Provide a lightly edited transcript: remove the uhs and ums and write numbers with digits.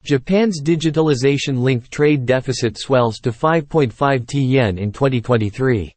Japan's digitalization-linked trade deficit swells to 5.5 trillion yen in 2023.